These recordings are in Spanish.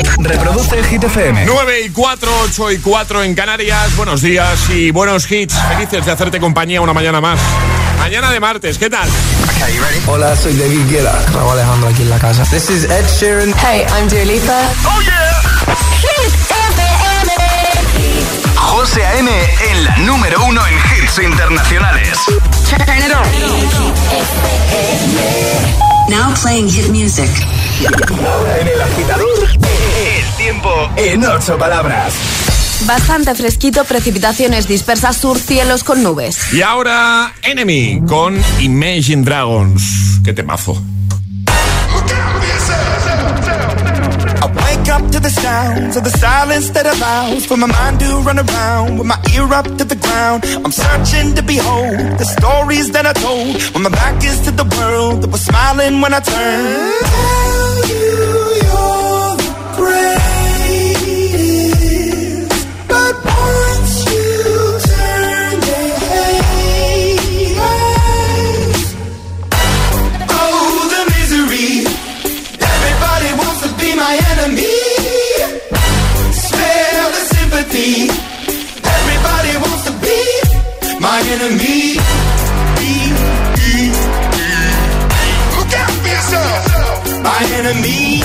Reproduce Hit FM. 9:04, 8:04 en Canarias. Buenos días y buenos hits. Felices de hacerte compañía una mañana más. Mañana de martes, ¿qué tal? Okay, you ready? Hola, soy David Guetta. Raúl Alejandro aquí en la casa. This is Ed Sheeran. Hey, I'm Dua Lipa. ¡Oh, yeah! Hit FM. José A.M. en la número 1 en hits internacionales. Turn it on. Now playing hit music. Ahora en El Agitador, el tiempo en 8 palabras. Bastante fresquito, precipitaciones dispersas sur, cielos con nubes. Y ahora Enemy con Imagine Dragons. ¡Qué temazo! I wake up to the sounds of the silence that allows for my mind to run around with my ear up to the ground. I'm searching to behold the stories that I told when my back is to the world that was smiling when I turned. Tell you you're the greatest, but once you turn they hate us. Oh, the misery. Everybody wants to be my enemy. Spare the sympathy. Everybody wants to be my enemy. Look out for yourself. My enemy.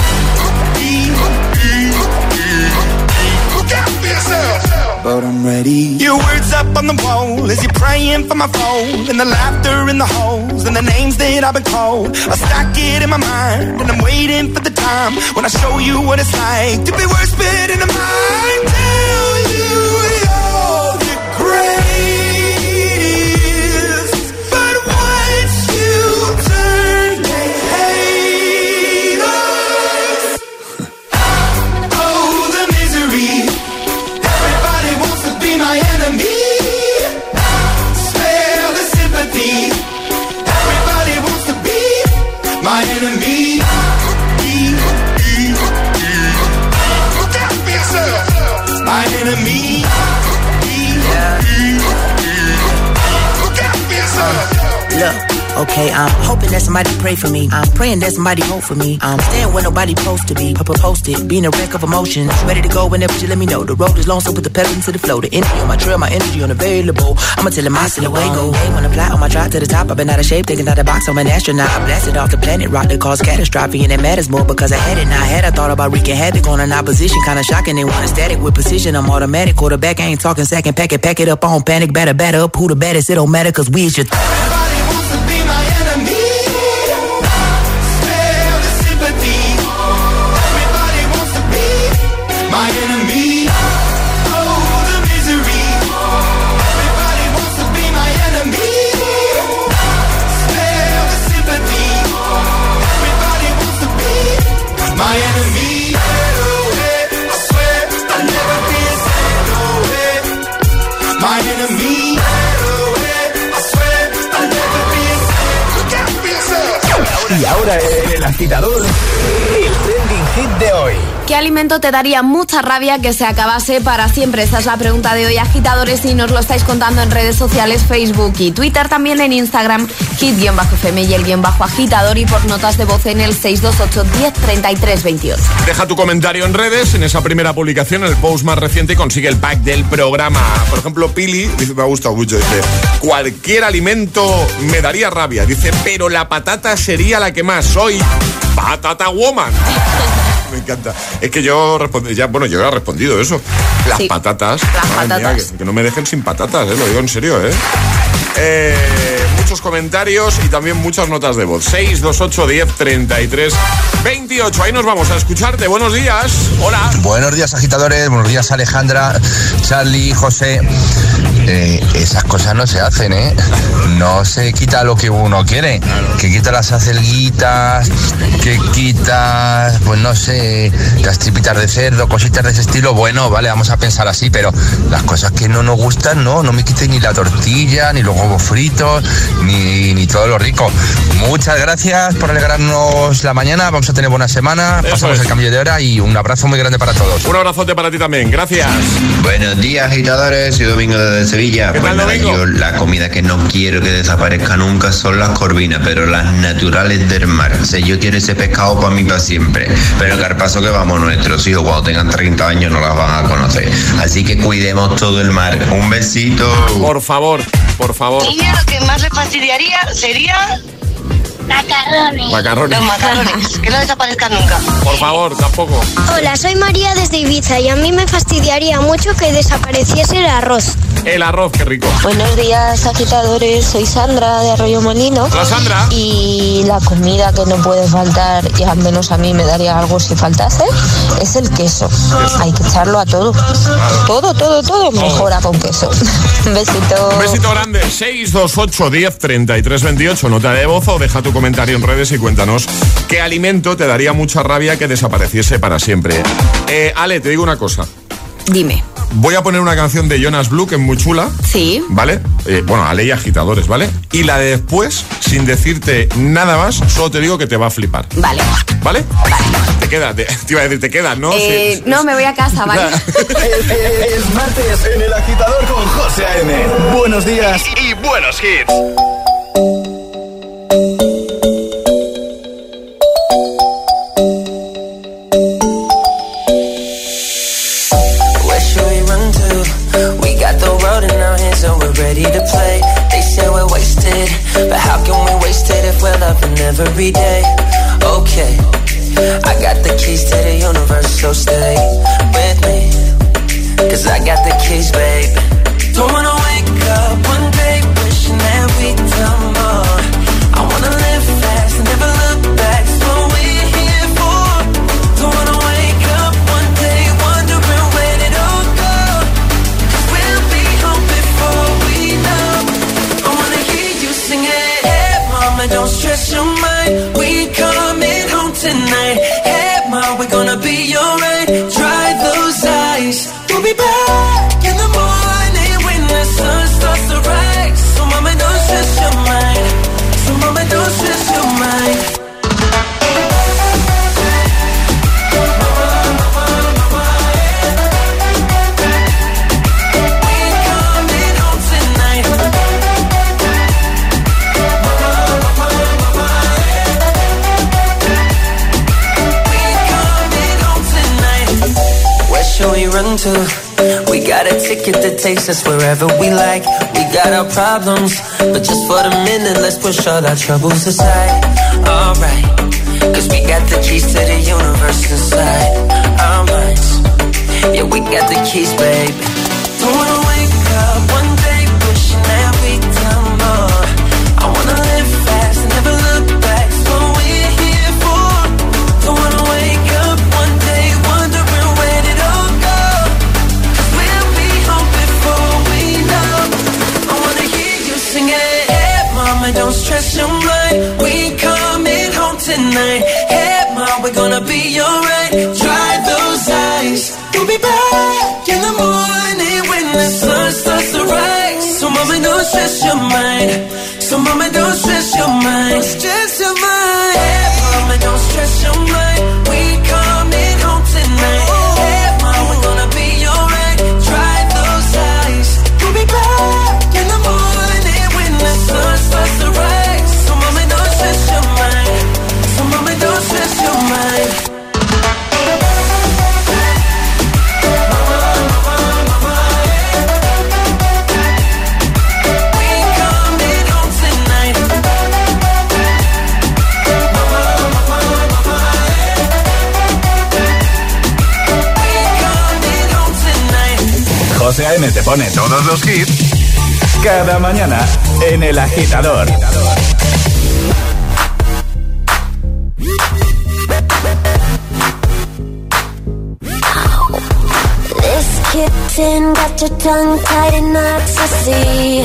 Look out for yourself. But I'm ready. Your words up on the wall as you're praying for my phone, and the laughter in the holes and the names that I've been called. I stack it in my mind and I'm waiting for the time when I show you what it's like to be worse fit in the mind. Tell you you're the greatest, but once you turn they hate us. Oh, the misery. Everybody wants to be my enemy. Spare the sympathy. Everybody wants to be my enemy. Look out for yourself. My enemy. Look out for yourself. Look, okay, I'm hoping that somebody pray for me. I'm praying that somebody hope for me. I'm staying where nobody supposed to be. Posted, being a wreck of emotions. Ready to go whenever you let me know. The road is long, so put the pedal into the flow. The energy on my trail, my energy unavailable. I'ma tell him I still away go. Hey, when I fly on my drive to the top, I've been out of shape, taking out the box. I'm an astronaut. I blasted off the planet, rock that caused catastrophe, and it matters more because I had it. Now I had, I thought about wreaking havoc on an opposition. Kinda shocking, they want a static with precision. I'm automatic, quarterback, I ain't talking second. Pack it up, on panic, batter up. Who the baddest? It don't matter, cause we is your Everybody wants to be my enemy. Spare the sympathy. Everybody wants to be my enemy. Oh, the misery. Everybody wants to be my enemy. Spare the sympathy. Everybody wants to be my enemy. I swear I'll never be the same. No way. My enemy. Y ahora en El Agitador, el trending hit de hoy. ¿Qué alimento te daría mucha rabia que se acabase para siempre? Esta es la pregunta de hoy, agitadores, y nos lo estáis contando en redes sociales, Facebook y Twitter, también en Instagram, hit-fm y el _agitador, y por notas de voz en el 628 10 33 28. Deja tu comentario en redes, en esa primera publicación, en el post más reciente, y consigue el pack del programa. Por ejemplo, Pili dice, me ha gustado mucho, dice, cualquier alimento me daría rabia, dice, pero la patata sería la que más. Soy Patata Woman. Me encanta. Es que yo respondí, yo he respondido eso. Las patatas. Las patatas. Mía, que no me dejen sin patatas, lo digo en serio, muchos comentarios y también muchas notas de voz. 628 10 33 28. Ahí nos vamos a escucharte. Buenos días. Hola. Buenos días, agitadores. Buenos días, Alejandra, Charlie, José. Esas cosas no se hacen, No se quita lo que uno quiere. Que quita las acelguitas, que quita, pues no sé, las tripitas de cerdo, cositas de ese estilo. Bueno, vale, vamos a pensar así, pero las cosas que no nos gustan, no me quiten ni la tortilla, ni los huevos fritos, ni todo lo rico. Muchas gracias por alegrarnos la mañana. Vamos a tener buena semana. Pasamos el cambio de hora y un abrazo muy grande para todos. Un abrazote para ti también. Gracias. Buenos días, agitadores. Soy Domingo desde Sevilla. ¿Qué pues tal, nada, Domingo? yo la comida que no quiero que desaparezca nunca son las corvinas, pero las naturales del mar. O sea, yo quiero ese pescado para mí para siempre. Pero que al paso que vamos, nuestros hijos cuando tengan 30 años no las van a conocer. Así que cuidemos todo el mar. Un besito. Por favor, por favor. Y lo que más le fastidiaría sería... Macarrones. Los macarrones, que no desaparezcan nunca. Por favor, tampoco. Hola, soy María desde Ibiza y a mí me fastidiaría mucho que desapareciese el arroz. El arroz, qué rico. Buenos días, agitadores. Soy Sandra de Arroyo Molino. Hola, Sandra. Y la comida que no puede faltar, y al menos a mí me daría algo si faltase, es el queso. Hay que echarlo a todo. Todo mejora con queso. Un besito. Un besito grande. 628 10 33 28. Nota de voz o deja tu comentario en redes y cuéntanos qué alimento te daría mucha rabia que desapareciese para siempre. Ale, te digo una cosa. Dime. Voy a poner una canción de Jonas Blue que es muy chula. Sí. ¿Vale? Bueno, Ale y agitadores, ¿vale? Y la de después, sin decirte nada más, solo te digo que te va a flipar. Vale. ¿Vale? Te quedas, te iba a decir, te quedas, ¿no? No, me voy a casa, ¿vale? Es martes en El Agitador con José A.M. Buenos días y buenos hits. So we're ready to play. They say we're wasted, but how can we waste it if we're loving every day? Okay, I got the keys to the universe, so stay with me, 'cause I got the keys, babe. Don't wanna wake up one day wishing that we'd done more. I wanna live fast, never look back, so we're here for. Don't wanna wake up one day wondering where it all go. We'll be home before we know. I wanna hear you sing it. Hey mama, don't stress your mind. We coming home tonight. Hey mom, we're gonna be alright. Dry those eyes. We'll be back in the morning when the sun starts to rise. So mama, don't stress your mind. So mama, don't stress your mind. Should we run to? We got a ticket that takes us wherever we like. We got our problems, but just for the minute, let's push all our troubles aside. Alright, 'cause we got the keys to the universe inside our minds. Yeah, we got the keys, babe. Don't wanna wake up one day wishing that we'd done more. I wanna live fast and never look back, so we're here for. Don't wanna wake up one day wondering where did all go. 'Cause we'll be home before we know. I wanna hear you sing it. Hey mama, don't stress your mind. We coming home tonight. Hey mom, we're gonna be alright. Dry those eyes. We'll be back in the morning when the sun starts to rise. So mama, don't stress your mind. So mama, don't stress your mind. Stress your mind. Hey mama, don't stress your mind. We coming home tonight. Hey mom, we're gonna be alright. Dry those eyes. We'll be back in the morning when the sun starts to rise. So mama, don't stress your mind. So mama, don't stress your mind. José A.M. te pone todos los hits cada mañana en El Agitador. This kitten got your tongue tied in ecstasy.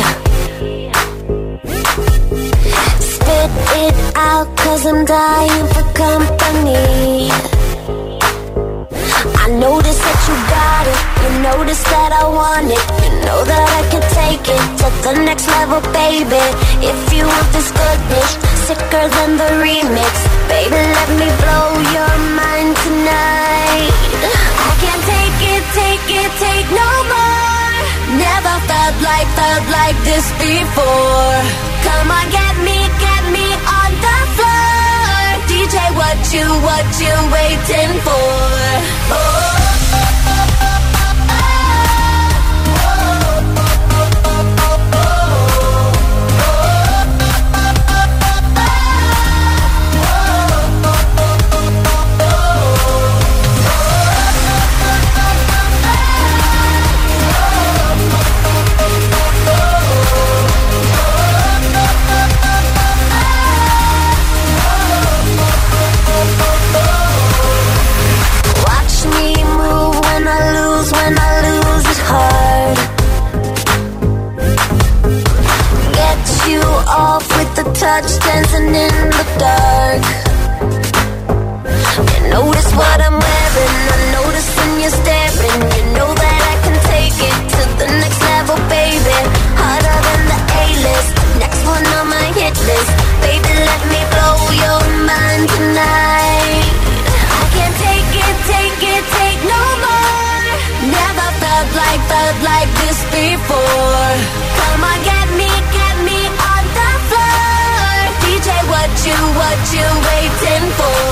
Spit it out 'cause I'm dying for company. I notice that you got it You notice that I want it. You know that I can take it to the next level, baby. If you want this goodness, sicker than the remix, baby, let me blow your mind tonight. I can't take it, take no more. Never felt like this before. Come on, get me on the floor. DJ, what you waiting for? Oh. Off with the touch, dancing in the dark. You notice what I'm wearing, I notice when you're staring. You know that I can take it to the next level, baby. Harder than the A-list, next one on my hit list. Baby, let me blow your mind tonight. I can't take it, take no more. Never felt like this before. Come on, get me on the floor. DJ, what you waiting for?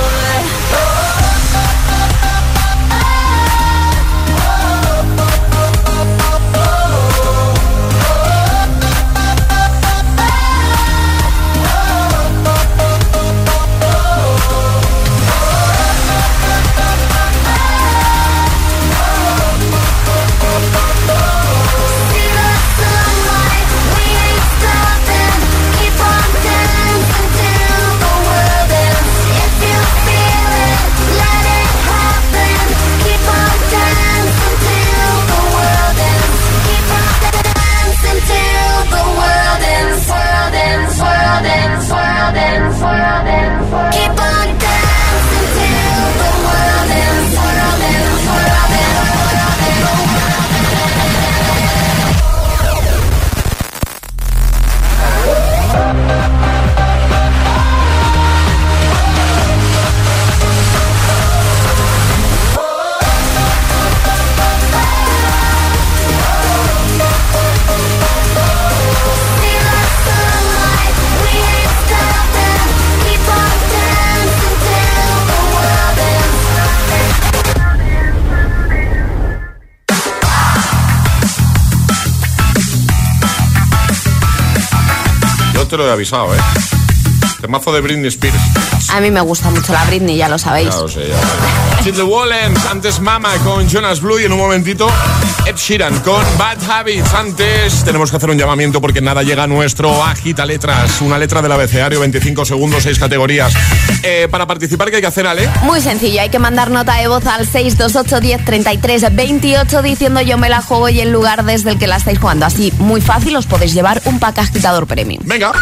Te lo he avisado, Temazo de Britney Spears. A mí me gusta mucho la Britney, ya lo sabéis. Ya lo sé, ya lo sé. The Wallens, antes Mama con Jonas Blue y en un momentito Ed Sheeran con Bad Habits. Antes tenemos que hacer un llamamiento porque nada llega a nuestro Agita Letras, una letra del abecedario, 25 segundos, 6 categorías. Para participar, ¿qué hay que hacer, Ale? Muy sencillo, hay que mandar nota de voz al 628 10 33 28 diciendo yo me la juego y el lugar desde el que la estáis jugando. Así, muy fácil, os podéis llevar un pack agitador premium. Venga.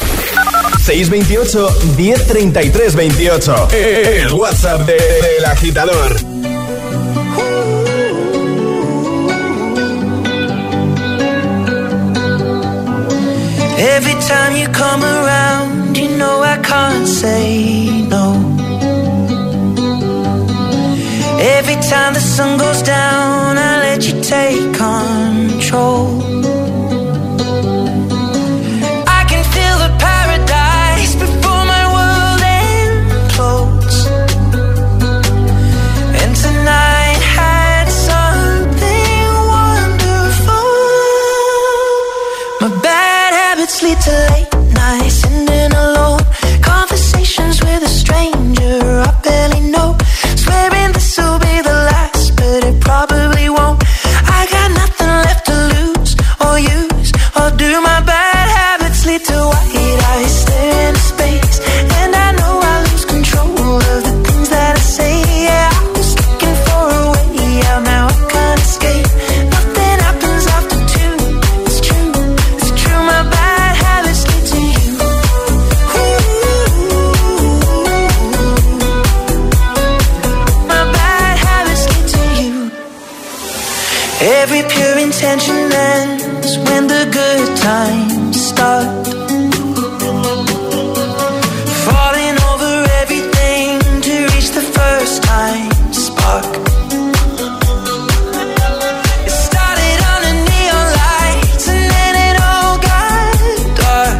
628 1033 28. El WhatsApp del agitador. Every time you come around, you know I can't say no. Every time the sun goes down, I let you take control. Lead to late nights, sitting alone, conversations with a stranger I barely know, swearing this will be the last, but it probably won't. I got nothing left to lose or Every pure intention ends when the good times start. Falling over everything to reach the first time spark. It started under neon lights and then it all got dark.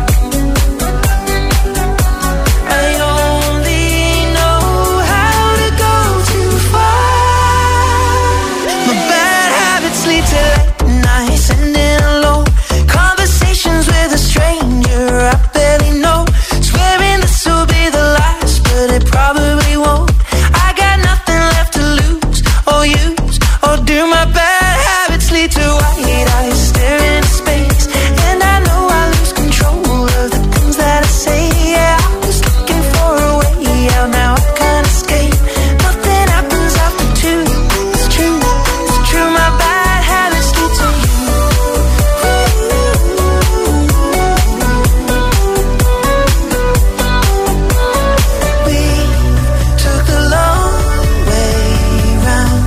I only know how to go too far. My bad habits lead to late nights and then alone conversations with a stranger I barely know. Swearing this will be the last, but it probably won't. I got nothing left to lose or use or do. My bad habits lead to white eyes staring into space, and I know I lose control of the things that I say. Yeah, I was looking for a way out, now I can't escape. Nothing happens after two. It's true, it's true. My bad habits lead to you. We took the long way round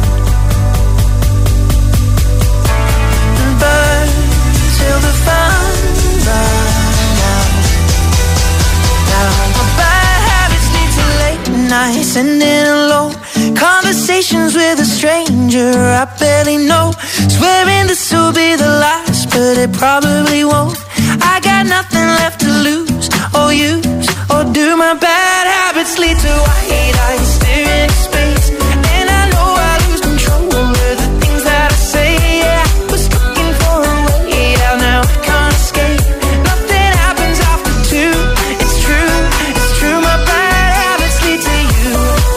and burned till the fun ran out. Now my bad habits lead to late nights and then alone conversations with a stranger I barely know. Swearing this will be the last, but it probably won't. I got nothing left to lose or use or do. My bad habits lead to white eyes staring into space, and I know I lose control of the things that I say. Yeah, I was looking for a way out, now I can't escape. Nothing happens after two. It's true, it's true. My bad habits lead to you.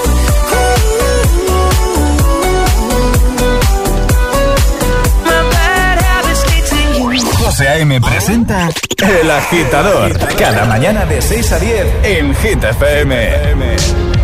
My bad habits lead to you. José A.M. presenta El Agitador. Cada mañana de 6 a 10 en Hit FM.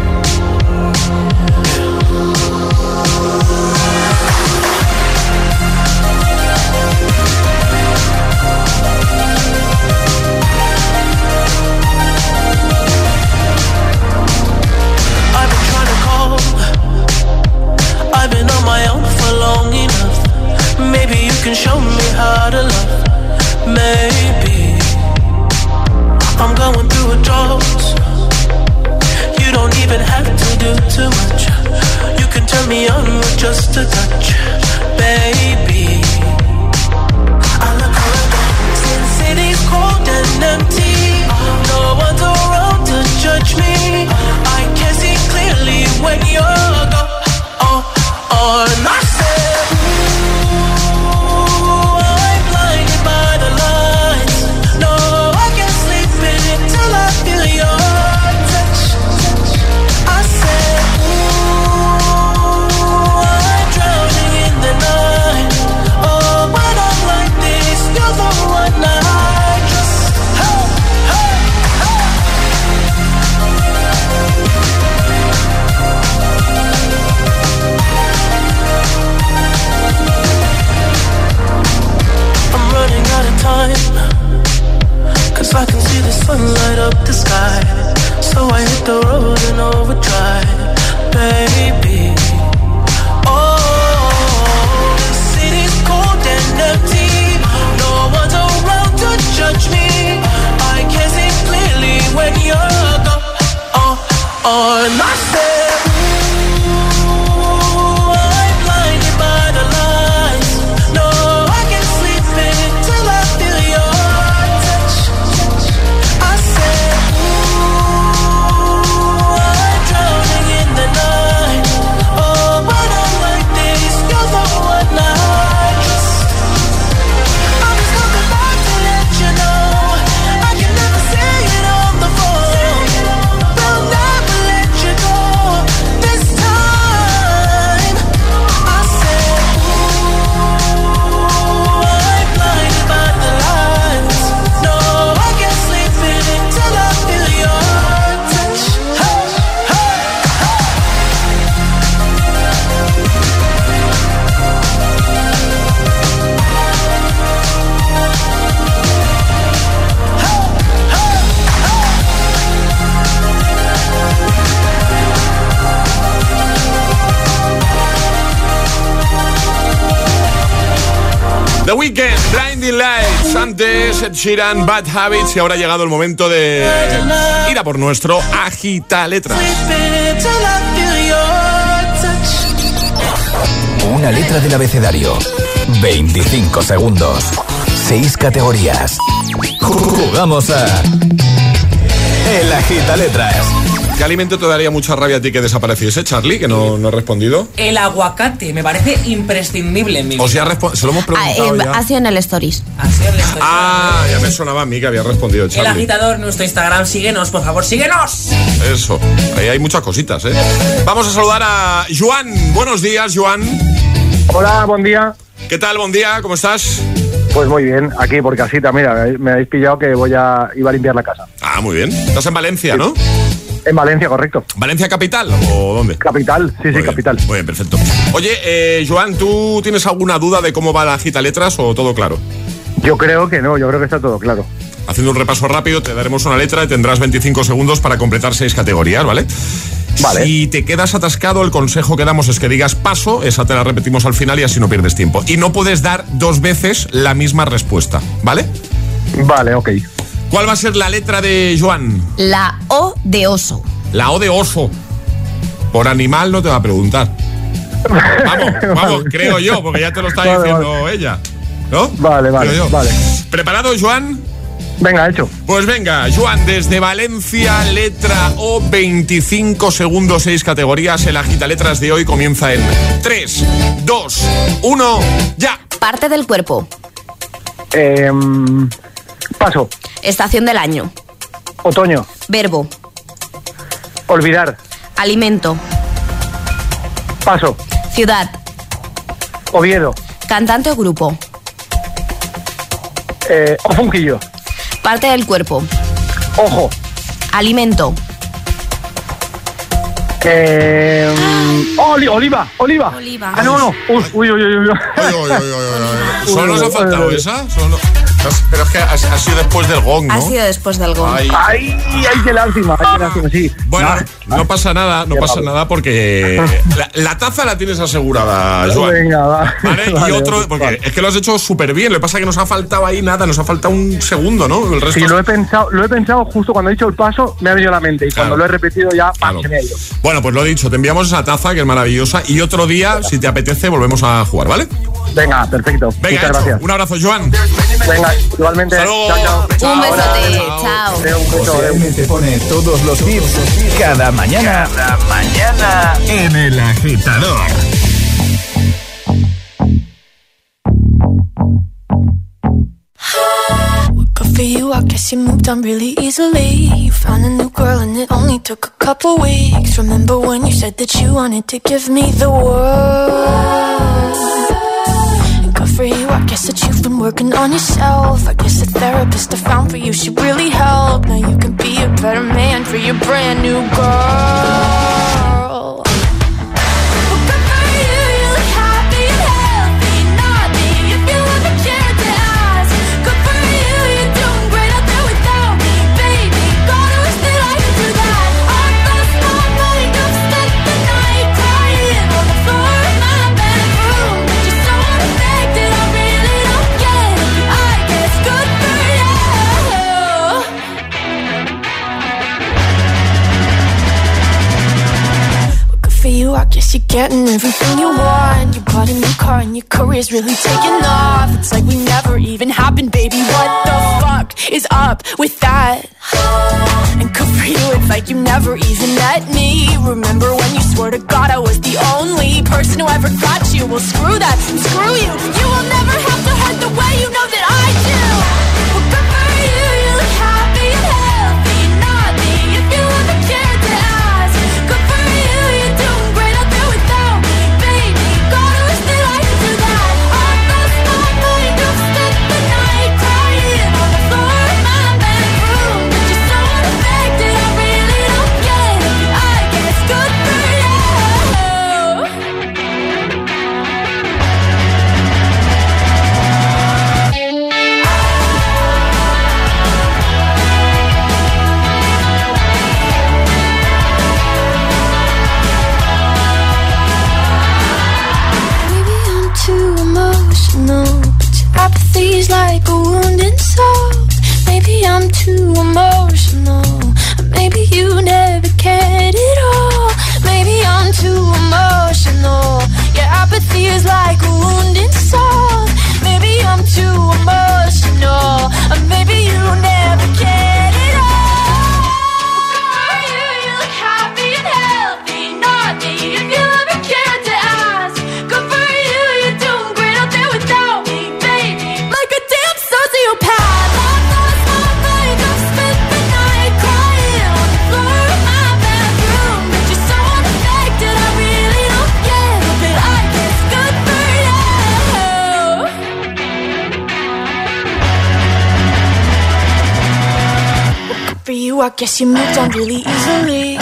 I've been trying to call. I've been on my own for long enough. Maybe you can show me how to love. Maybe I'm going through a drought. You don't even have to do too much. You can turn me on with just a touch, baby. I look around, since city's cold and empty. No one's around to judge me. I can see clearly when you're gone. And I said, ooh, I'm blinded by the lights. No, I can't sleep until I feel your touch. I said, ooh, I'm drowning in the The Weeknd, Blinding Lights, antes Ed Sheeran, Bad Habits, y ahora ha llegado el momento de ir a por nuestro Agitaletras. Una letra del abecedario, 25 segundos, 6 categorías. Jugamos a El Agitaletras. ¿Qué alimento te daría mucha rabia a ti que desapareciese, Charlie, que no ha respondido? El aguacate, me parece imprescindible en mi vida. O sea, se lo hemos preguntado ya. Ha sido en el Stories. Ya me sonaba a mí que había respondido Charlie. El Agitador, nuestro Instagram, síguenos, por favor, síguenos. Eso, ahí hay muchas cositas, ¿eh? Vamos a saludar a Joan. Buenos días, Joan. Hola, buen día. ¿Qué tal, buen día? ¿Cómo estás? Pues muy bien, aquí por casita, mira, me habéis pillado que iba a limpiar la casa. Ah, muy bien. Estás en Valencia, ¿no? En Valencia, correcto. ¿Valencia capital o dónde? Capital, sí, capital. Muy bien, perfecto. Oye, Joan, ¿tú tienes alguna duda de cómo va la Agitaletras o todo claro? Yo creo que no, yo creo que está todo claro. Haciendo un repaso rápido, te daremos una letra y tendrás 25 segundos para completar 6 categorías, ¿vale? Vale. Si te quedas atascado, el consejo que damos es que digas paso, esa te la repetimos al final y así no pierdes tiempo. Y no puedes dar 2 veces la misma respuesta, ¿vale? Vale, ok. ¿Cuál va a ser la letra de Joan? La O de oso. La O de oso. Por animal no te va a preguntar. Vamos, creo yo, porque ya te lo está diciendo ella, ¿no? Vale. ¿Preparado, Joan? Venga, hecho. Pues venga, Joan, desde Valencia, letra O, 25 segundos, 6 categorías. El Agitaletras de hoy comienza en 3, 2, 1, ya. Parte del cuerpo. Paso. Estación del año. Otoño. Verbo. Olvidar. Alimento. Paso. Ciudad. Oviedo. Cantante o grupo. Ofunquillo. Parte del cuerpo. Ojo. Alimento. Oliva. Ah, no. Uy. ¿Solo nos ha faltado esa? Pero es que ha sido después del gong, ¿no? Ha sido después del gong. Ay, qué lástima, sí. Bueno, no pasa nada porque la taza la tienes asegurada, Joan. Venga, va. ¿Vale? Y otro, porque es que lo has hecho súper bien. Lo que pasa es que nos ha faltado ahí nada, nos ha faltado un segundo, ¿no? El resto sí, lo he pensado justo cuando he dicho el paso, me ha venido a la mente. Y cuando lo he repetido ya, se me ha ido. Bueno, pues lo he dicho, te enviamos esa taza que es maravillosa. Y otro día, si te apetece, volvemos a jugar, ¿vale? Venga, perfecto. Venga, muchas gracias. Un abrazo, Joan. Venga, igualmente. Chao. Un besote. Chao. José te pone todos los hits cada mañana en El Agitador. Good for you, I guess you moved on really easily. You found a new girl and it only took a couple weeks. Remember when you said that you wanted to give me the world? Good for you, I guess that you've been working on yourself. I guess the therapist I found for you should really help. Now you can be a better man for your brand new girl. I guess you're getting everything you want. You bought a new car and your career's really taking off. It's like we never even happened, baby. What the fuck is up with that? And good for you, it's like you never even met me. Remember when you swore to God I was the only person who ever got you? Well, screw that, screw you. You will never have to hurt the way you know that I do. Well, good for you, you look happy and healthy. Not me, if you ever cared to ask. Good for you, you're doing great out there without me, baby. God, I wish that I could do that. I lost my mind, I've spent the night crying on the floor of my bedroom. But you're so unaffected, I really don't get it. I guess good for you. Maybe I'm too emotional. Maybe you never cared at all. Maybe I'm too emotional. Your apathy is like a wounded soul. Maybe I'm too emotional. Maybe you never cared at all. You look happy and healthy. Not me if you ever cared to ask. Good for you, you're doing great out there without me, baby. Like a damn sociopath. I've lost my mind. I've spent the night crying on the floor of my bedroom. But you're so unaffected, I really don't get it. But I guess good for you. Good for you, I guess you moved on really easily.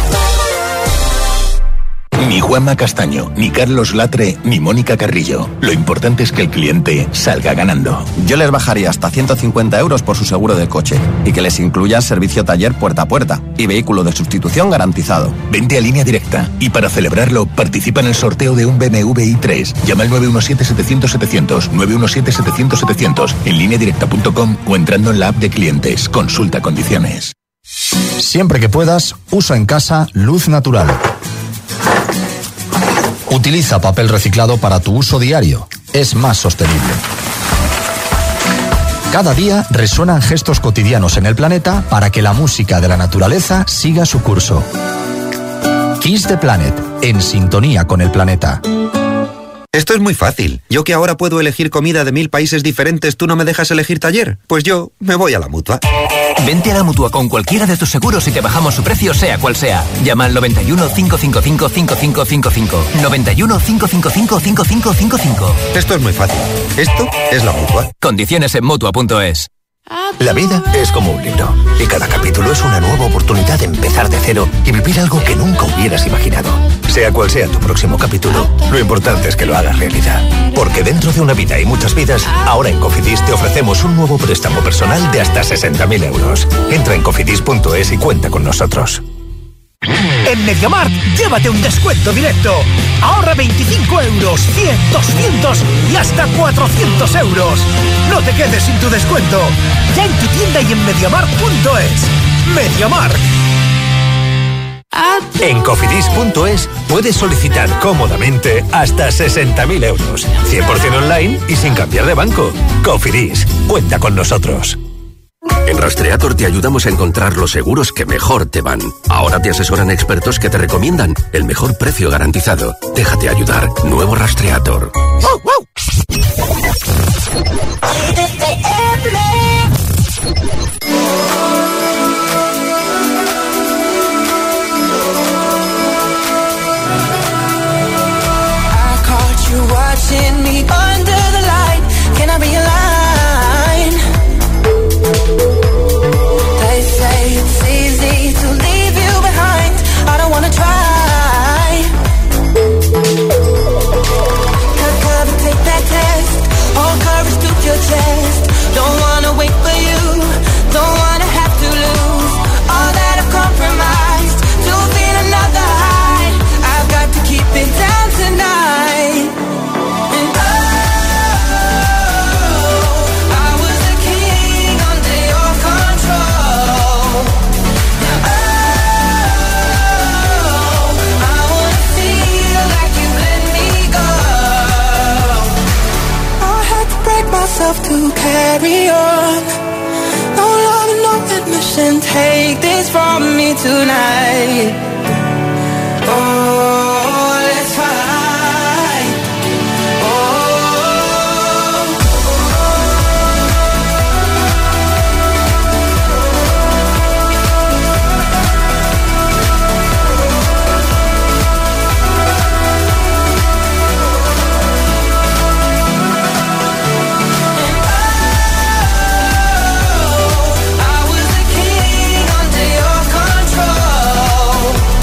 Ni Juanma Castaño, ni Carlos Latre, ni Mónica Carrillo. Lo importante es que el cliente salga ganando. Yo les bajaría hasta 150 euros por su seguro de coche y que les incluya servicio taller puerta a puerta y vehículo de sustitución garantizado. Vente a Línea Directa y para celebrarlo participa en el sorteo de un BMW i3. Llama al 917-700-700, 917-700-700 en lineadirecta.com o entrando en la app de clientes. Consulta condiciones. Siempre que puedas, usa en casa luz natural. Utiliza papel reciclado para tu uso diario. Es más sostenible. Cada día resuenan gestos cotidianos en el planeta para que la música de la naturaleza siga su curso. Kiss the Planet, en sintonía con el planeta. Esto es muy fácil. Yo que ahora puedo elegir comida de 1000 países diferentes, ¿tú no me dejas elegir taller? Pues yo me voy a la Mutua. Vente a la Mutua con cualquiera de tus seguros y te bajamos su precio sea cual sea. Llama al 91 555 5555. 91 555 5555. Esto es muy fácil. Esto es la Mutua. Condiciones en Mutua.es. La vida es como un libro y cada capítulo es una nueva oportunidad de empezar de cero y vivir algo que nunca hubieras imaginado. Sea cual sea tu próximo capítulo, lo importante es que lo hagas realidad. Porque dentro de una vida y muchas vidas, ahora en Cofidis te ofrecemos un nuevo préstamo personal de hasta 60.000 euros. Entra en cofidis.es y cuenta con nosotros. En MediaMarkt, llévate un descuento directo. Ahorra 25 euros, 100, 200 y hasta 400 euros. No te quedes sin tu descuento. Ya en tu tienda y en MediaMarkt.es. MediaMarkt. En cofidis.es puedes solicitar cómodamente hasta 60.000 euros. 100% online y sin cambiar de banco. Cofidis, cuenta con nosotros. En Rastreator te ayudamos a encontrar los seguros que mejor te van. Ahora te asesoran expertos que te recomiendan el mejor precio garantizado. Déjate ayudar. Nuevo Rastreator. ¡Wow, wow! I caught you watching me under the light. Can I be alive? They say it's easy to leave you behind. I don't wanna try. Cut cover, take that test. All courage to your chest. Don't wanna wait for you. Don't wanna have to lose all that I've compromised to feel another high. I've got to keep it down tonight. And I was a king under your control. I wanna feel like you let me go. I had to break myself to carry on. No love and no admission. Take this from me tonight. Oh, let's fight. I was a king under your control.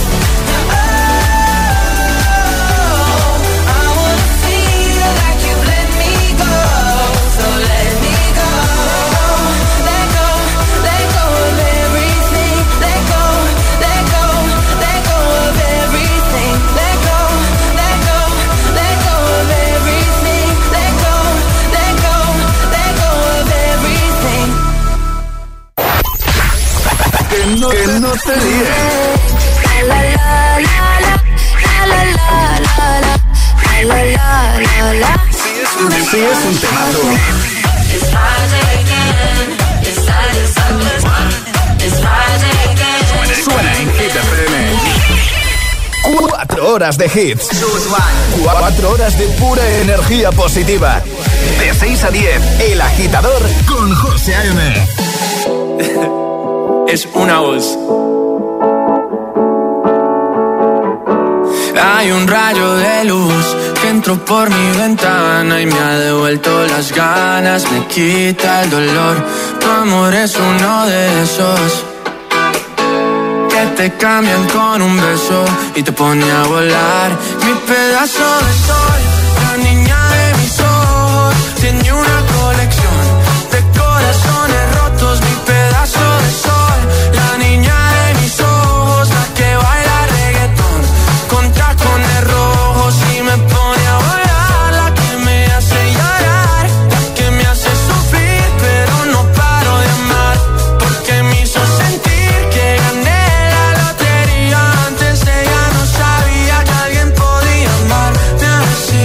Sí es un temazo. Suena en Hit FM. 4 horas de hits. 4 horas de pura energía positiva. De 6 a 10, El Agitador con José A.M. Es una voz. Hay un rayo de luz que entró por mi ventana y me ha devuelto las ganas, me quita el dolor. Tu amor es uno de esos que te cambian con un beso y te pone a volar. Mi pedazo de sol, la niña de mis ojos, tiene una colección de corazones rotos. Mi pedazo de sol, la niña de mis ojos, la que baila reggaetón con tacones rojos y me pone a volar. La que me hace llorar, la que me hace sufrir, pero no paro de amar, porque me hizo sentir que gané la lotería. Antes ella no sabía que alguien podía amarme así.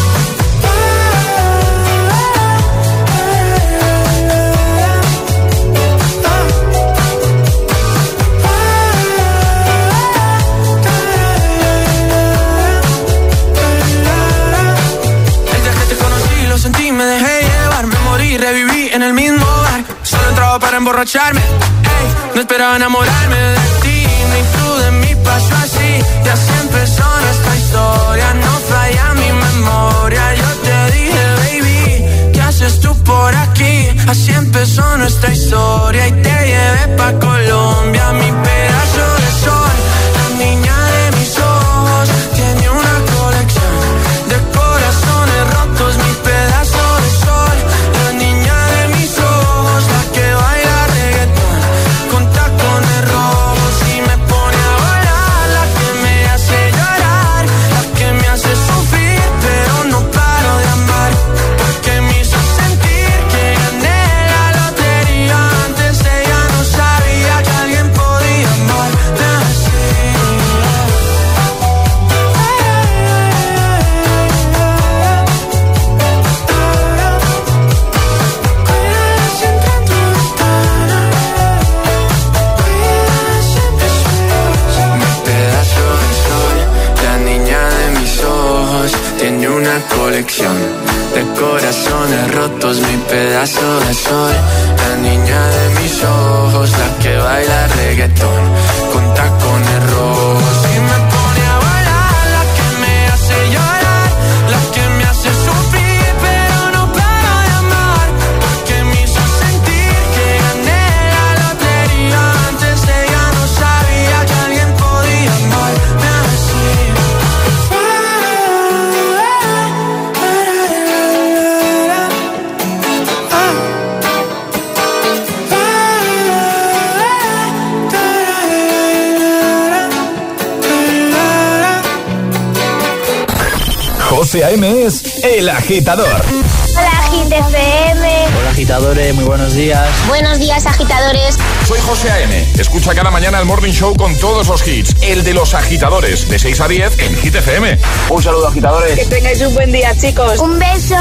Desde que te conocí lo sentí, me dejé llevar, me morí, reviví en el mismo bar. Solo entraba para emborracharme, ey, no esperaba enamorarme de ti, ni tú de mí pasó así. Y así empezó nuestra historia, no falla mi memoria. Yo te dije, baby, ¿qué haces tú por aquí? Así empezó nuestra historia y te llevé pa' Colombia. Mi pedazo de sol, la niña de mis ojos, tiene una colección de corazones rotos. Mi pedazo de sol, la niña de mis ojos, la que baila reggaetón con tacones rojos y me pone a volar. La que me hace llorar, la que me hace sufrir, pero no paro de amar, porque me hizo sentir que gané la lotería. Antes ella no sabía que alguien podía amarme así. Mi pedazo de sol, la niña de mis ojos, tiene una colección de corazones rotos. Mi pedazo de sol, la niña de mis ojos, la que baila reggaetón con tacones rojos y me pone a volar. La que me hace llorar, la que me hace sufrir, pero no paro de amar, porque me hizo sentir que gané la lotería. Antes ella no sabía que alguien podía amarme así. José A.M. es El Agitador. Hola, Hit FM. Hola agitadores, muy buenos días. Buenos días, agitadores. Soy José A.M. Escucha cada mañana el Morning Show con todos los hits. El de los agitadores, de 6 a 10 en Hit FM. Un saludo agitadores. Que tengáis un buen día, chicos. Un beso.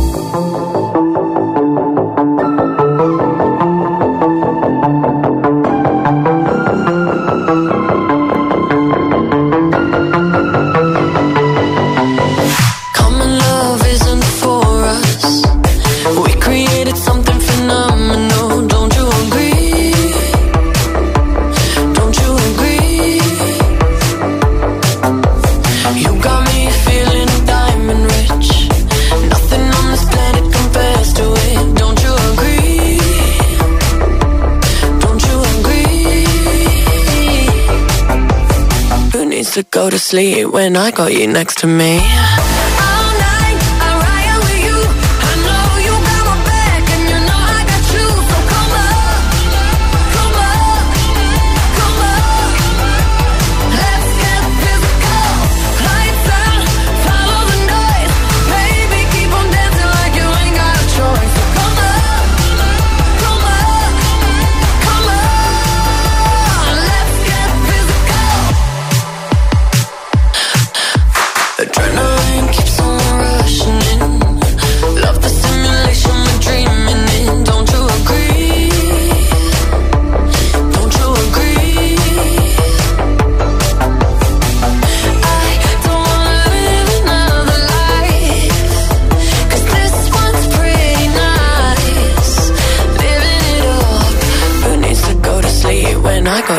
Common love isn't for us. We created something phenomenal. Don't you agree? Don't you agree? You got me feeling diamond rich. Nothing on this planet compares to it. Don't you agree? Don't you agree? Who needs to go to sleep when I got you next to me? Adrenaline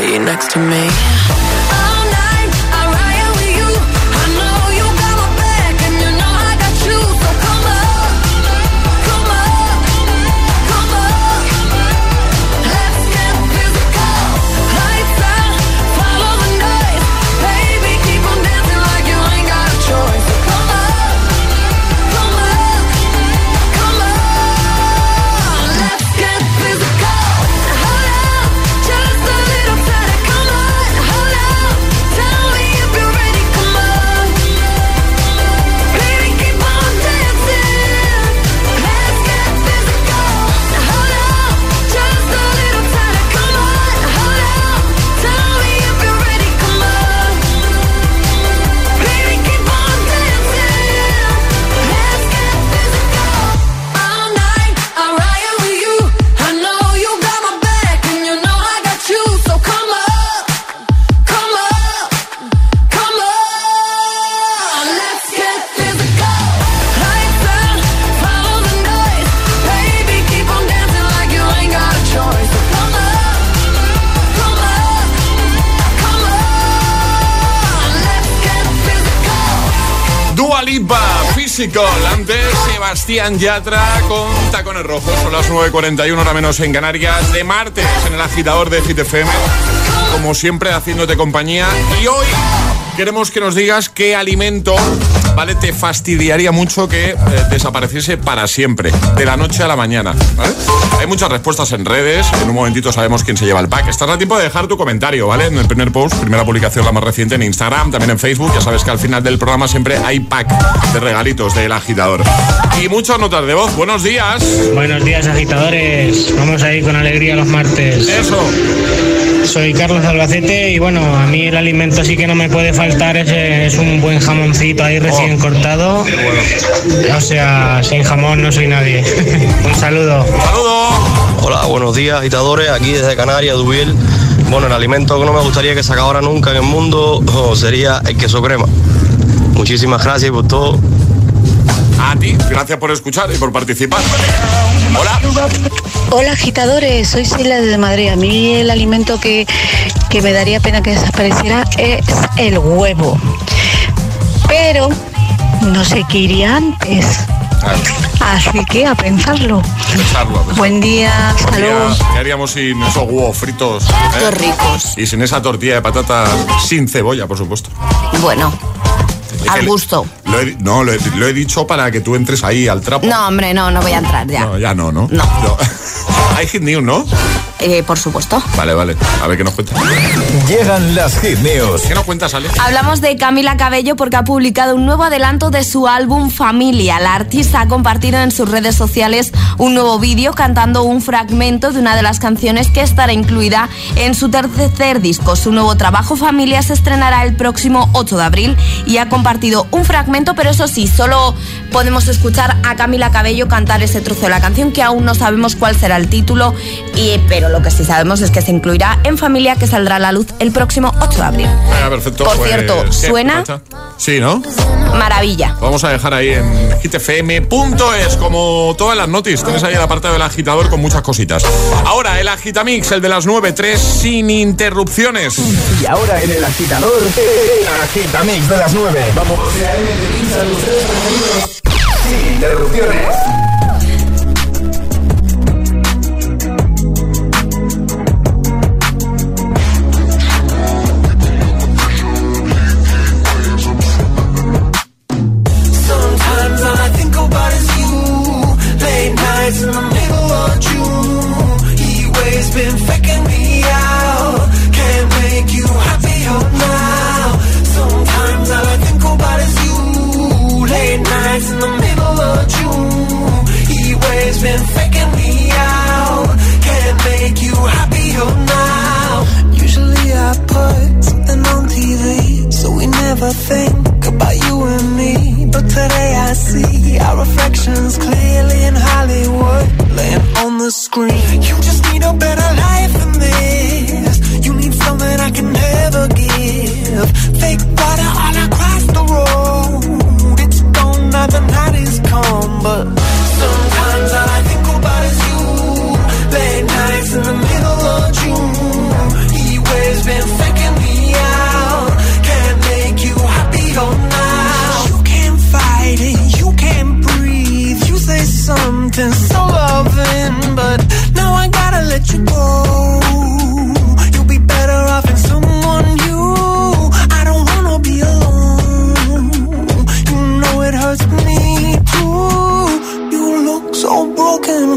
you next to me. Antes Sebastián Yatra con Tacones Rojos. Son las 9:41, hora menos en Canarias, de martes en el agitador de Hit FM, como siempre haciéndote compañía. Y hoy queremos que nos digas qué alimento, ¿vale?, te fastidiaría mucho que desapareciese para siempre, de la noche a la mañana, ¿vale? Hay muchas respuestas en redes. En un momentito sabemos quién se lleva el pack. Estás a tiempo de dejar tu comentario, ¿vale? En el primer post, primera publicación, la más reciente, en Instagram, también en Facebook. Ya sabes que al final del programa siempre hay pack de regalitos del agitador. Y muchas notas de voz. Buenos días. Buenos días, agitadores. Vamos a ir con alegría los martes. Eso. Soy Carlos de Albacete y bueno, a mí el alimento sí que no me puede faltar es un buen jamoncito ahí recién cortado. O sea, sin jamón no soy nadie. Un saludo. ¡Saludo! Hola, buenos días, agitadores, aquí desde Canarias, Dubiel. Bueno, el alimento que no me gustaría que se acabara nunca en el mundo sería el queso crema. Muchísimas gracias por todo. A ti, gracias por escuchar y por participar. Hola. Hola, agitadores, soy Sheila desde Madrid. A mí el alimento que me daría pena que desapareciera es el huevo. Pero no sé qué iría antes. Así que a pensarlo. Buen día, saludos. ¿Qué haríamos sin esos huevos fritos? Qué ricos. Y sin esa tortilla de patatas sin cebolla, por supuesto. Bueno, al gusto. Lo he dicho para que tú entres ahí al trapo. No, hombre, no voy a entrar ya. No, ya no. No. Hay Hit News, ¿no? Por supuesto. Vale. A ver qué nos cuentas. Llegan las Hit News. ¿Qué nos cuentas, Ale? Hablamos de Camila Cabello porque ha publicado un nuevo adelanto de su álbum Familia. La artista ha compartido en sus redes sociales un nuevo vídeo cantando un fragmento de una de las canciones que estará incluida en su tercer disco. Su nuevo trabajo Familia se estrenará el próximo 8 de abril y ha compartido un fragmento, pero eso sí, solo podemos escuchar a Camila Cabello cantar ese trozo de la canción, que aún no sabemos cuál será el título, pero lo que sí sabemos es que se incluirá en Familia, que saldrá a la luz el próximo 8 de abril. Perfecto. Por cierto, ¿suena? Sí, ¿no? Maravilla. Vamos a dejar ahí en hitfm.es, como todas las noticias. Tienes ahí el apartado del agitador con muchas cositas. Ahora el agitamix, el de las 9:03, sin interrupciones. Y ahora en el agitador, el agitamix de las 9. Vamos. Sin interrupciones. In the middle of June, he always been faking me out. Can't make you happier now. Sometimes all I think about is you. Late nights in the middle of June, he always been faking me out. Can't make you happier now. Usually I put something on TV, so we never think about you and me. But today I see our reflections clearly in Hollywood, laying on the screen. You just need a better life than this. You need something I can never give. Fake water all across the road. It's gone now, the night is come. But sometimes all I think about is you. Late nights in the middle of June. He wears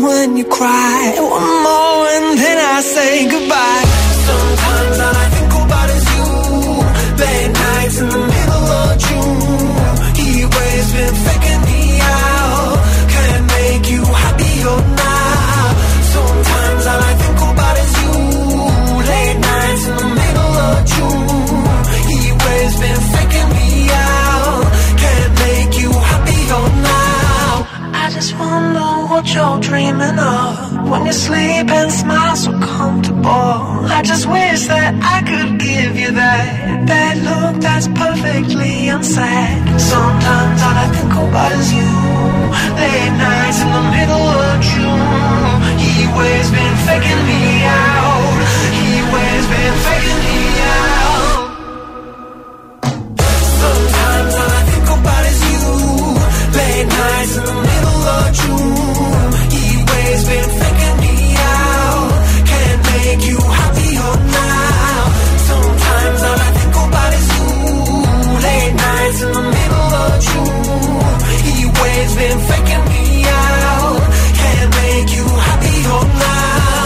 when you cry. One more and then I say goodbye. Sometimes all I think about is you. Late nights in the middle of June. He always been faking me out. Can't make you happier now. Sometimes all I think about is you. Late nights in the middle of June. He always been faking me out. Can't make you happier now. I just wonder what you're dreaming of. When you sleep and smile so comfortable. I just wish that I could give you that look that's perfectly unsaid. Sometimes all I think about is you. Late nights in the middle of June. He always been faking me out. He always been faking me out. Sometimes all I think about is you. Late nights in the middle of June. He always been faking me out. Can't make you happier now. Sometimes all I think about is you. Late nights in the middle of June. He always been faking me out. Can't make you happier now.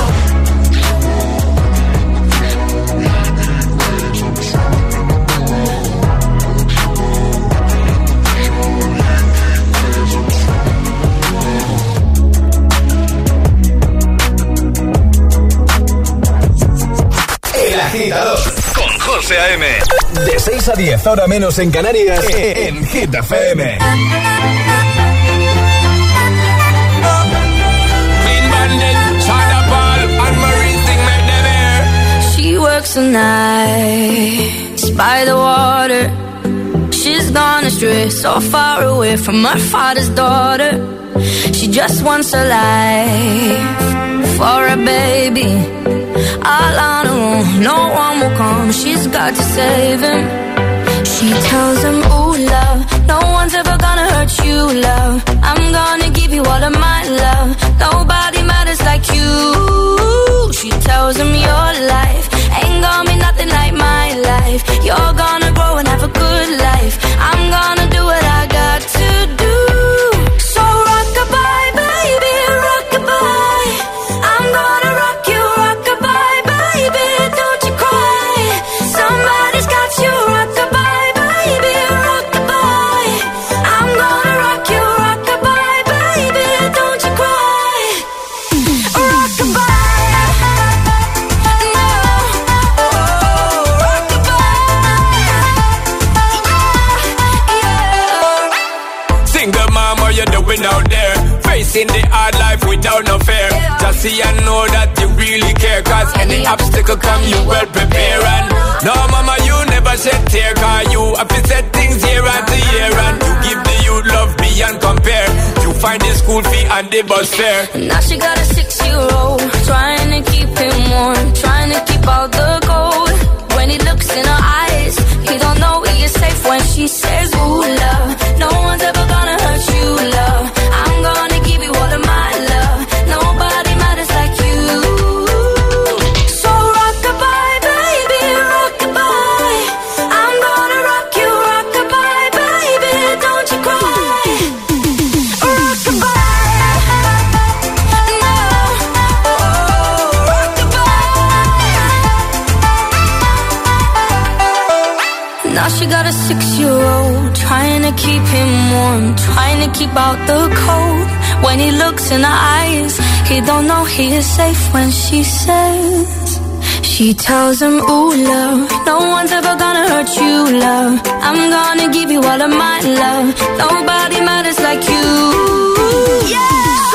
El Agitador con José A.M. De 6 a 10, hora menos en Canarias, en Hit FM. She works the nights by the water. She's gone astray, so far away from her father's daughter. She just wants a life for a baby. All on her own, no one will come. She's got to save him. She tells him, ooh, love, no one's ever gonna hurt you, love. I'm gonna give you all of my love. Nobody matters like you. She tells him your life ain't gonna be nothing like my life. You're gonna grow and have a good life. I'm gonna do what I got to do. So rock-a-bye, baby, rock-a-bye. I'm gonna rock you, rock-a-bye, baby, don't you cry. Somebody's got you, rock-a-bye, baby, rock-a-bye. I'm gonna rock you, rock-a-bye, baby, don't you cry. Rock-a-bye. Out there, facing the hard life without no fear. Just see and know that you really care. Cause any obstacle come, you well prepare. And no, mama, you never shed tear. Cause you have to set things year after year. And you give the youth love beyond compare. You find the school fee and the bus fare. Now she got a 6-year-old, trying to keep him warm, trying to keep out the cold. When he looks in her eyes, he don't know he is safe when she says, ooh, love, no one's ever gonna hurt you, love. I'm gonna give you all of my love. Nobody matters like you. So rock-a-bye, baby, rock-a-bye. I'm gonna rock you, rock-a-bye, baby, don't you cry. Rock-a-bye. Now she got a 6-year-old, trying to keep him warm, trying to keep out the cold. When he looks in her eyes, he don't know he is safe when she says, she tells him, ooh, love, no one's ever gonna hurt you, love. I'm gonna give you all of my love. Nobody matters like you. Yeah.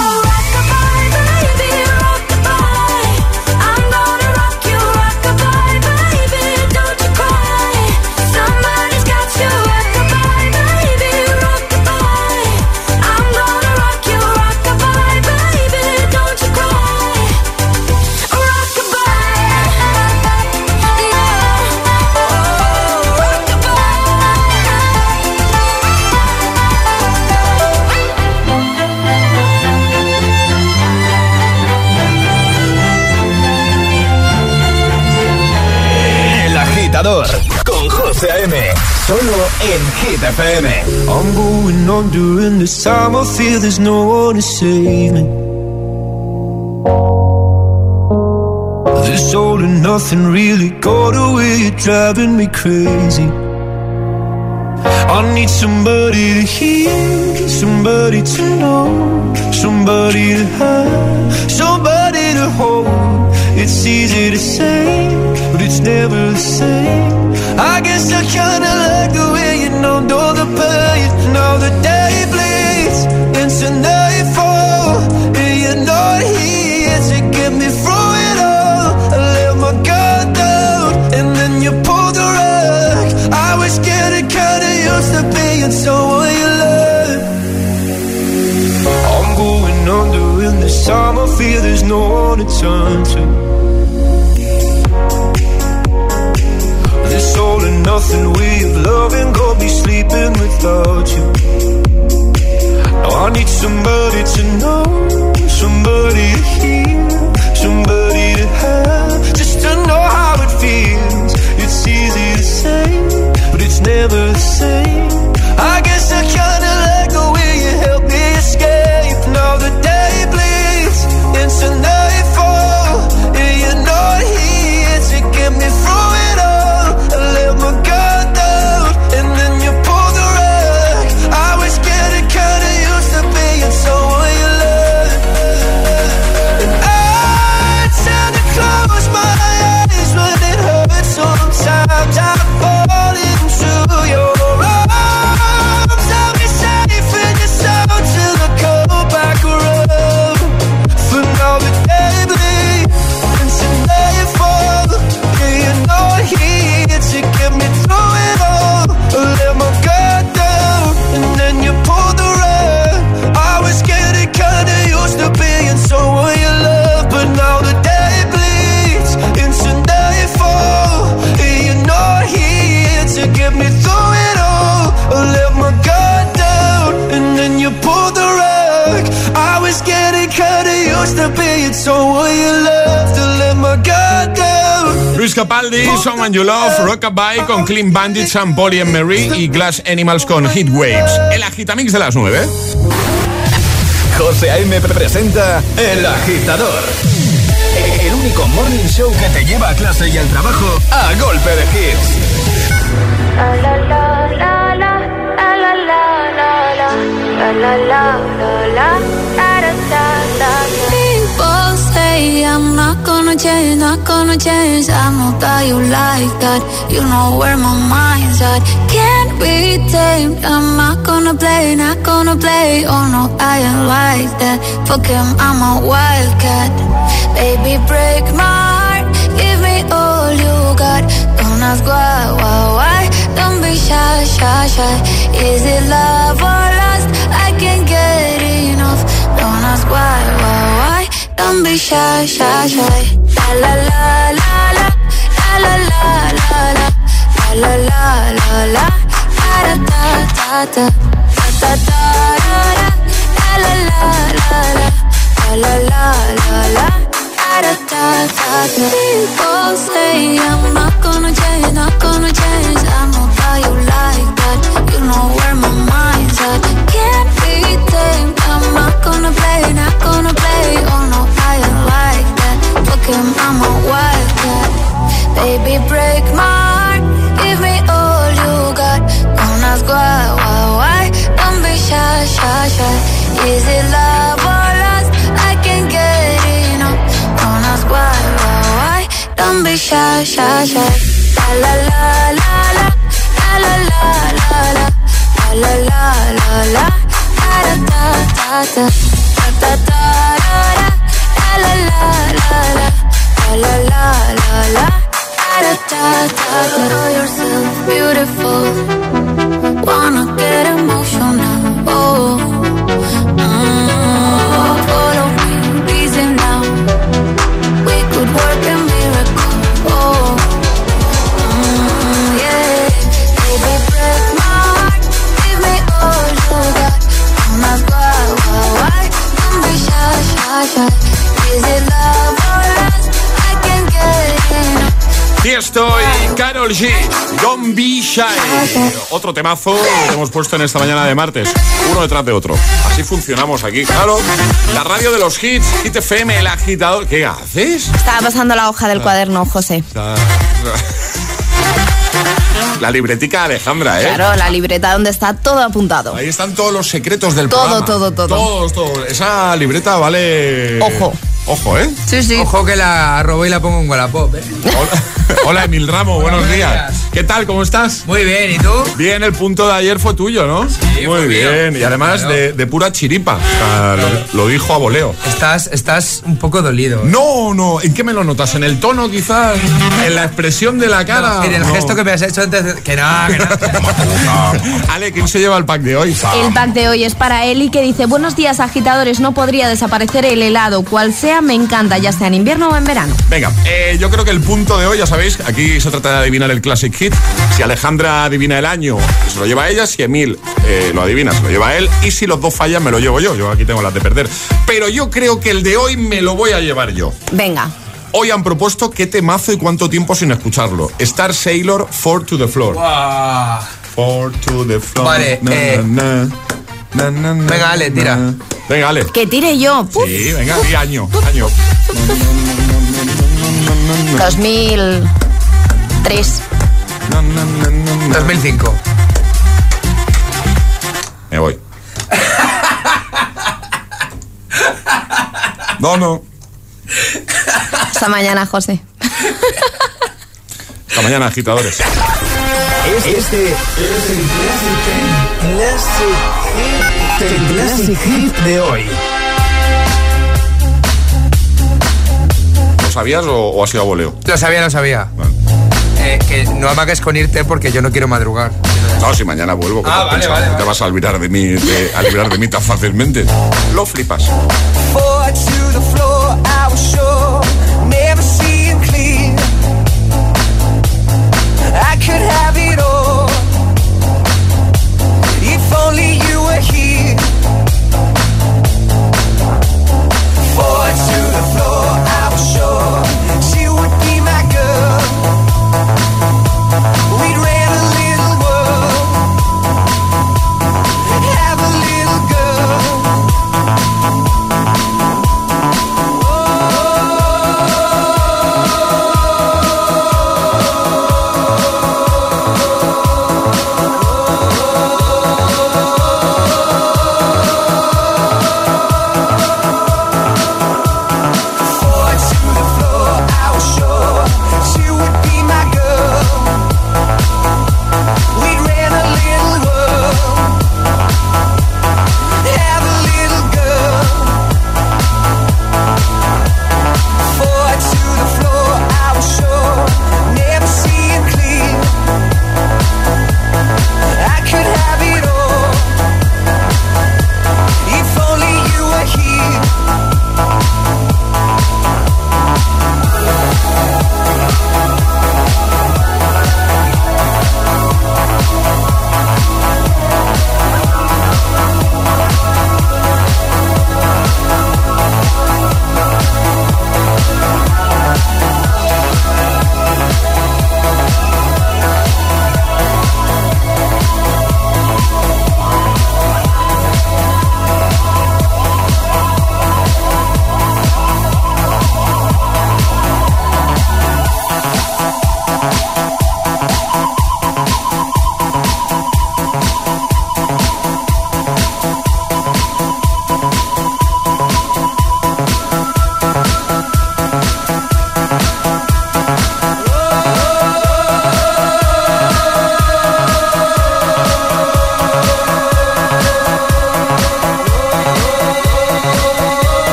Con José A.M. Solo en Hit FM. I'm going on during this time. I feel there's no one to save me. all or nothing, really got away, you're driving me crazy. I need somebody to hear, somebody to know, somebody to have, somebody to hold. It's easy to say, but it's never the same. I guess I kinda like the way you know the pain. Now the day bleeds into nightfall, and you're not here to get me through it all. I let my guard down, and then you pulled the rug. I was getting kinda used to being someone you love. I'm going under, and this time I feel there's no one to turn to. This all and nothing way of loving, go be sleeping without you. Now I need somebody to know, somebody to hear, somebody to have, just to know how it feels. It's easy to say, but it's never the same. I guess I kinda like the way you help me escape. Now the day bleeds into nightfall, and you're not here to get me through it all. I let my guard down, and then you pulled the rug. I was getting kinda used to being someone you love. And I tend to close my eyes when it hurts. Sometimes I fall into your arms. I'll be safe in your soul till I come back around. For now the day bleeds into nightfall, and you're not here to get me through it all. I let my guard down, and then you pulled the rug. I was getting kinda used to being someone you love, but now the day bleeds into nightfall, and you're not here to get me through it all. I let my guard down, and then you pulled the rug. I was getting kinda used to being someone you love, to let my guard down. Luis Capaldi, Someone You Love, Rockabye con Clean Bandits, Sam Polly and Mary y Glass Animals con Heat Waves. El Agitamix de las 9. José A.M. presenta El Agitador, el único morning show que te lleva a clase y al trabajo a golpe de hits. La la la la la, la la la la, la la la la, da da da. People say I'm not gonna change, not gonna change. I know that you like that. You know where my mind's at. Can't be tamed. I'm not gonna play, not gonna play. Oh no, I ain't like that. Fuck him, I'm a wildcat. Baby, break my heart. Give me all you got. Don't ask why. Don't be shy, shy, shy. Is it love or lust? I can't get enough. Don't ask why. Don't be shy, shy, shy. La la la la la, la la la la la, la la la la, da da da da, da da da, la la la la, la la la la, da da da. People say I'm not gonna change, not gonna change. I know how you like that. You know where my mind's at. Can't be tamed. I'm not gonna play, not gonna play. Oh no, I ain't like that. Fuck him, I'm a wildcat. Baby, break my heart. Give me all you got. Don't ask why. Don't be shy, shy, shy. Is it love or lust? I can't get enough. Don't ask why. Don't be shy, shy, shy. La la la la, la la la la la, la la la la, da da da da, da da da, la la la la, la la la la, da da da. Know yourself beautiful. Wanna get emotional. Oh, follow me, reason now. We could work a miracle. Oh, yeah. Baby, break my heart. Give me all you got. Don't ask why. Don't be shy, shy, shy. Is it love or lust? I can't get enough. Tiesto y Karol G, Don't Be Shy. Otro temazo que hemos puesto en esta mañana de martes, uno detrás de otro. Así funcionamos aquí, claro. La radio de los hits, Hit FM, el agitador. ¿Qué haces? Estaba pasando la hoja del cuaderno, José. La libretica Alejandra, ¿eh? Claro, la libreta donde está todo apuntado. Ahí están todos los secretos del programa. Todo. Todos. Esa libreta vale... Ojo, ¿eh? Sí. Ojo que la robo y la pongo en Wallapop, ¿eh? Hola, Emil Ramos, buenos días. ¿Qué tal? ¿Cómo estás? Muy bien, ¿y tú? Bien, el punto de ayer fue tuyo, ¿no? Sí, muy bien. Mío. Y además claro. de pura chiripa. O sea, lo dijo a voleo. Estás un poco dolido. No. ¿En qué me lo notas? ¿En el tono, quizás? ¿En la expresión de la cara? No, en el gesto que me has hecho antes de... Que no. Ale, ¿quién se lleva el pack de hoy? El pack de hoy es para Eli, que dice: buenos días, agitadores, no podría desaparecer el helado, cual sea, me encanta, ya sea en invierno o en verano. Venga, yo creo que el punto de hoy, ya sabéis, aquí se trata de adivinar el Classic Hit. Si Alejandra adivina el año, se lo lleva ella. Si Emil lo adivina, se lo lleva él. Y si los dos fallan, me lo llevo yo. Yo aquí tengo las de perder. Pero yo creo que el de hoy me lo voy a llevar yo. Venga. Hoy han propuesto qué temazo y cuánto tiempo sin escucharlo. Star Sailor, 4 to the Floor. Wow. 4 to the Floor. Vale, venga, Ale, tira. Venga, Ale. Que tire yo. Puf. Sí, venga, y año. 2003. 2005. Me voy. No. Hasta mañana, José. Hasta mañana, agitadores. Este es el Classic Hit de hoy. ¿Lo sabías o ha sido a voleo? Lo sabía. Bueno. Que no amagues con irte porque yo no quiero madrugar. No, si mañana vuelvo. Vale. Te vas a librar de mí, tan fácilmente. Lo flipas. I could have it all if only you were here. Forward to the floor, I was sure she would be my girl. We'd rent a little world, have a little girl.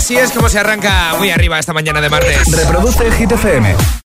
así es como se arranca muy arriba esta mañana de martes. Reproduce Hit FM.